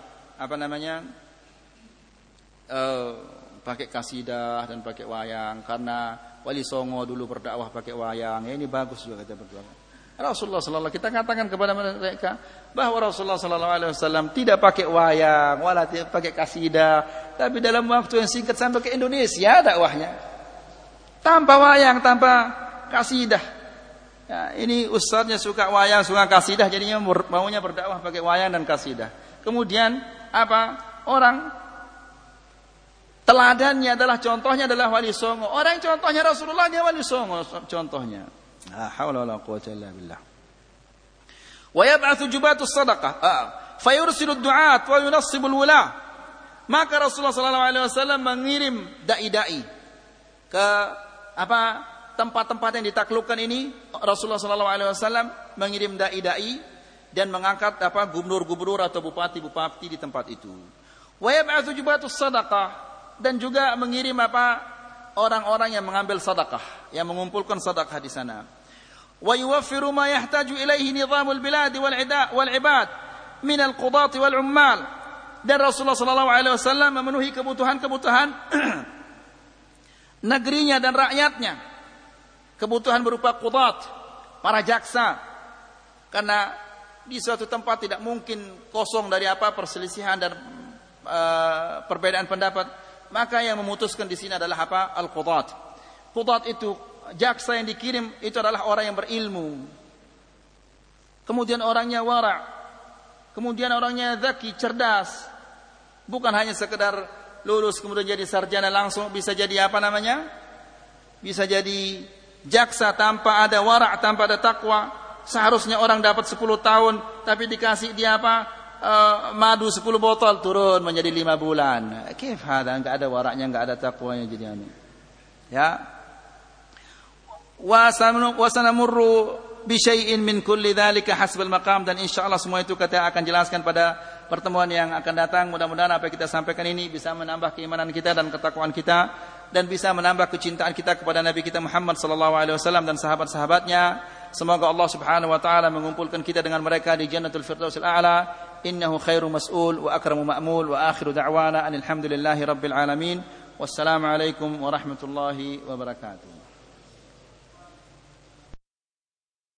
pakai kasidah dan pakai wayang karena Wali Songo dulu berdakwah pakai wayang. Ya, ini bagus juga kita berdoa. Rasulullah sallallahu, kita katakan kepada mereka bahwa Rasulullah sallallahu alaihi wasallam tidak pakai wayang, wala tidak pakai kasidah, tapi dalam waktu yang singkat sampai ke Indonesia dakwahnya. Tanpa wayang, tanpa kasidah. Ya, ini ustadznya suka wayang, suka kasidah, jadinya maunya berdakwah pakai wayang dan kasidah. Kemudian orang teladannya adalah, contohnya adalah Wali Songo. Orang contohnya Rasulullah, dia Wali Songo contohnya. La haula wala quwwata illa billah. Wa yab'atsu jubatus sadaqah, fayursilu ad-du'at wa yunassibu al-wula. Maka Rasulullah SAW mengirim dai-dai ke tempat-tempat yang ditaklukkan ini. Rasulullah SAW mengirim dai-dai dan mengangkat gubernur-gubernur atau bupati-bupati di tempat itu. Wa yab'atsu jubatus sadaqah, dan juga mengirim orang-orang yang mengambil sedekah, yang mengumpulkan sedekah di sana. Wa yuwaffiru ma yahtaju ilaihi nizamul bilad wal ibad min al-qudat wal ummal. Dan Rasulullah SAW memenuhi kebutuhan-kebutuhan negerinya dan rakyatnya. Kebutuhan berupa qudat, para jaksa. Karena di suatu tempat tidak mungkin kosong dari perselisihan dan perbedaan pendapat. Maka yang memutuskan di sini adalah al-qudat. Qudat itu jaksa yang dikirim itu adalah orang yang berilmu. Kemudian orangnya wara'. Kemudian orangnya zaki, cerdas. Bukan hanya sekedar lulus kemudian jadi sarjana langsung, bisa jadi bisa jadi jaksa tanpa ada wara', tanpa ada takwa. Seharusnya orang dapat 10 tahun tapi dikasih dia madu 10 botol, turun menjadi 5 bulan. Kif hada, enggak ada wara'nya, enggak ada takwanya jadi ya. Wa sanamurru bi syai'in min kulli dzalika hasbal maqam, dan insyaallah semua itu kita akan jelaskan pada pertemuan yang akan datang. Mudah-mudahan apa yang kita sampaikan ini bisa menambah keimanan kita dan ketakwaan kita, dan bisa menambah kecintaan kita kepada Nabi kita Muhammad sallallahu alaihi wasallam dan sahabat-sahabatnya. Semoga Allah Subhanahu wa taala mengumpulkan kita dengan mereka di Jannatul Firdausil A'la. Innahu khairu mas'ul wa akramu ma'mul, wa akhiru da'wana alhamdulillahi rabbil alamin. Wassalamu alaikum warahmatullahi wabarakatuh.